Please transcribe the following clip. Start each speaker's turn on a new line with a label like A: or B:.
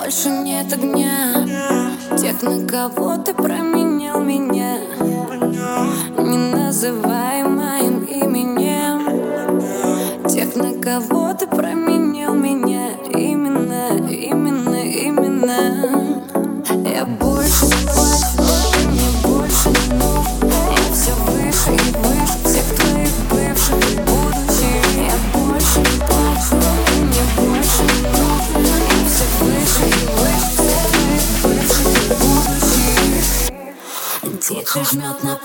A: больше нет огня тех, на кого ты променял меня. Не называй моим именем тех, на кого ты променял меня. Именно я больше не плачу, ты мне больше не нужен. Я все выше и выше всех твоих бывших и будущих. Я больше не плачу, ты мне больше не нужен. Я все выше и выше всех твоих бывших и будущих. Дико жмет на